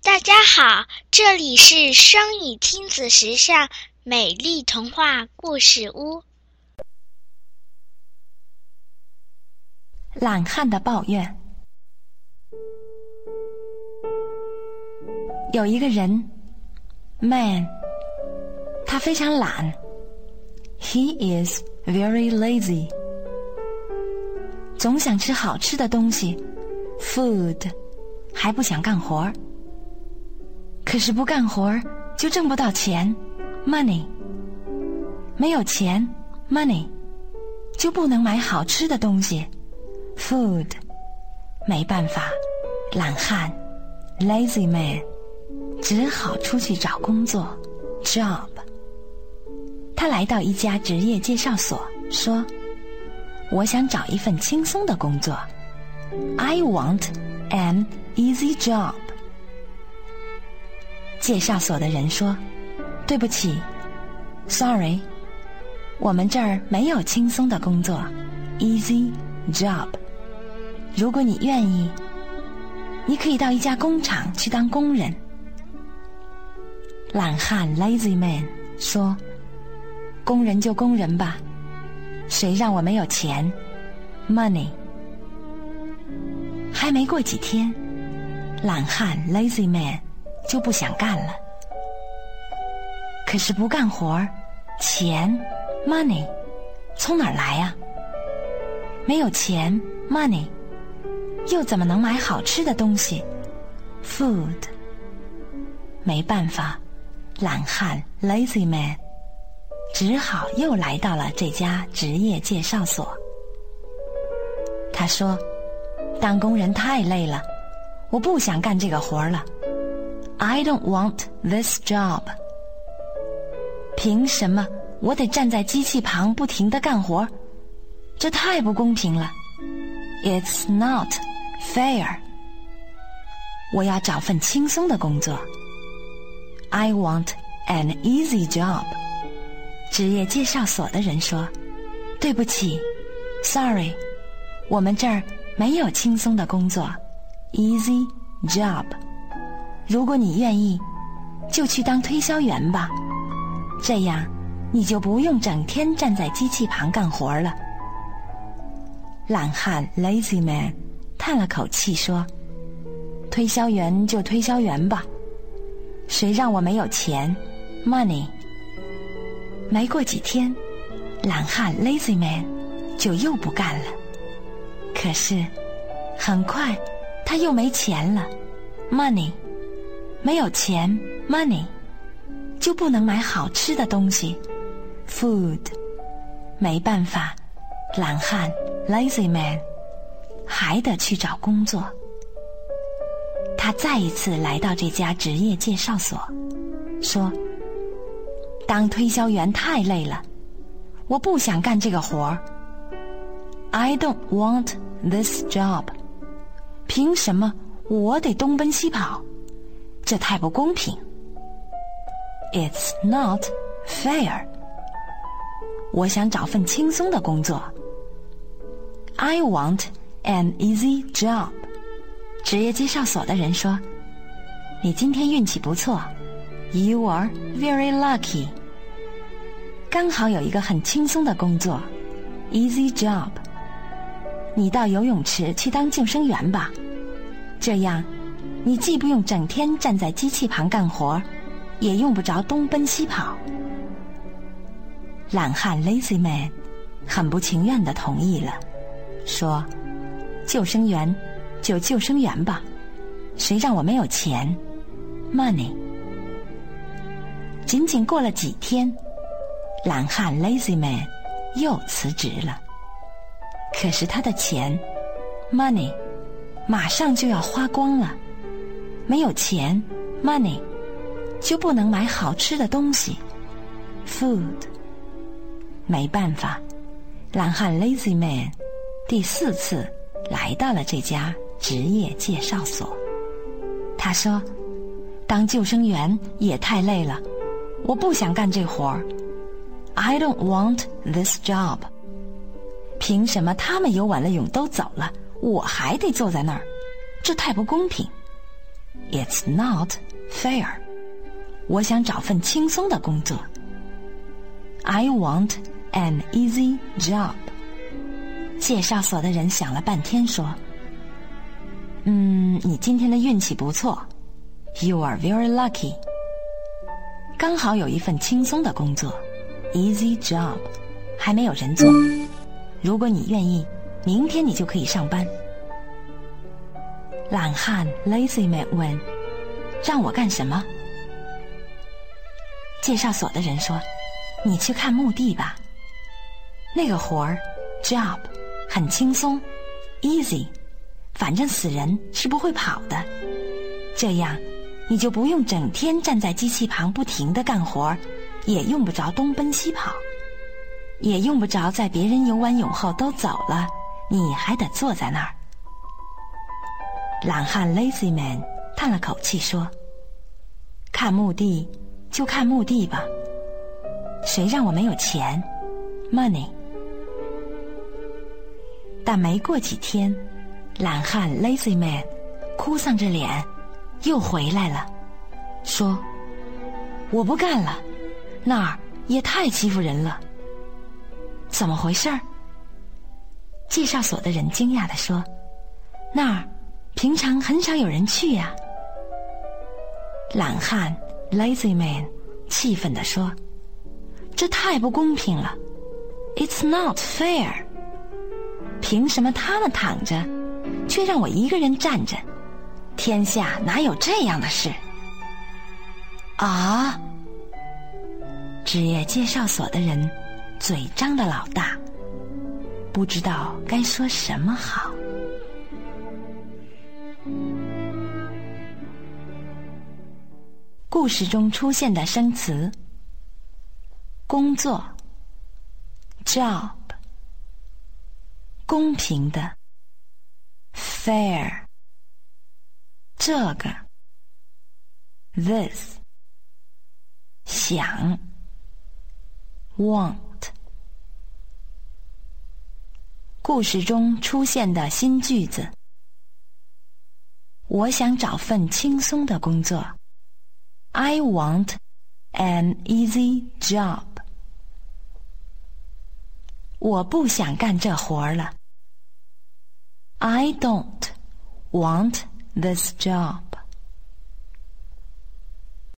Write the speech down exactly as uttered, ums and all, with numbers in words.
大家好，这里是双语亲子时尚美丽童话故事屋。 懒汉的抱怨。有一个人 Man 他非常懒 He is very lazy 总想吃好吃的东西 Food 还不想干活，可是不干活就挣不到钱 Money 没有钱 Money 就不能买好吃的东西 Food 没办法，懒汉 Lazy man 只好出去找工作 Job 他来到一家职业介绍所，说我想找一份轻松的工作 I want an easy job 介绍所的人说，对不起 Sorry 我们这儿没有轻松的工作 Easy job 如果你愿意，你可以到一家工厂去当工人。懒汉 Lazy man 说，工人就工人吧，谁让我没有钱 Money 还没过几天，懒汉 Lazy man 就不想干了。可是不干活，钱 Money 从哪儿来啊？没有钱 Money 又怎么能买好吃的东西 Food 没办法，懒汉 Lazy man 只好又来到了这家职业介绍所。他说，当工人太累了，我不想干这个活了 I don't want this job 凭什么我得站在机器旁不停地干活？这太不公平了 It's not fair 我要找份轻松的工作 I want an easy job 职业介绍所的人说，对不起 Sorry 我们这儿没有轻松的工作 Easy job 如果你愿意，就去当推销员吧，这样你就不用整天站在机器旁干活了。懒汉 Lazy man 叹了口气说，推销员就推销员吧，谁让我没有钱 Money 没过几天，懒汉 Lazy man 就又不干了。可是很快他又没钱了 Money 没有钱 Money 就不能买好吃的东西 Food 没办法，懒汉 Lazy man 还得去找工作。他再一次来到这家职业介绍所，说，当推销员太累了，我不想干这个活 I don't want this job 凭什么我得东奔西跑？这太不公平 It's not fair 我想找份轻松的工作 I want an easy job 职业介绍所的人说，你今天运气不错 You are very lucky 刚好有一个很轻松的工作 Easy job 你到游泳池去当救生员吧，这样你既不用整天站在机器旁干活，也用不着东奔西跑。懒汉 Lazy man 很不情愿地同意了，说，救生员就救生员吧，谁让我没有钱 Money 仅仅过了几天，懒汉 Lazy man 又辞职了。可是他的钱 Money 马上就要花光了，没有钱 Money 就不能买好吃的东西 Food 没办法，懒汉 Lazy man 第四次来到了这家职业介绍所。他说，当救生员也太累了，我不想干这活 I don't want this job 凭什么他们游完了泳都走了，我还得坐在那儿？这太不公平。 It's not fair. 我想找份轻松的工作。I want an easy job. 介绍所的人想了半天说，嗯，你今天的运气不错。You are very lucky. 刚好有一份轻松的工作 Easy job. 还没有人做。如果你愿意，明天你就可以上班。懒汉 Lazy Man 问，让我干什么？介绍所的人说，你去看墓地吧。那个活儿 job 很轻松 easy， 反正死人是不会跑的。这样你就不用整天站在机器旁不停地干活，也用不着东奔西跑，也用不着在别人游完泳后都走了，你还得坐在那儿。懒汉 Lazy Man 叹了口气说，看墓地就看墓地吧，谁让我没有钱 money。 但没过几天，懒汉 Lazy Man 哭丧着脸又回来了，说，我不干了，那儿也太欺负人了。怎么回事儿？介绍所的人惊讶地说，那儿平常很少有人去呀。懒汉 Lazy Man 气愤地说，这太不公平了 It's not fair. 凭什么他们躺着，却让我一个人站着？天下哪有这样的事？啊！职业介绍所的人嘴张得老大，不知道该说什么好。故事中出现的生词：工作 job， 公平的 fair， 这个 this， 想 want。故事中出现的新句子：我想找份轻松的工作。I want an easy job. 我不想干这活了。I don't want this job.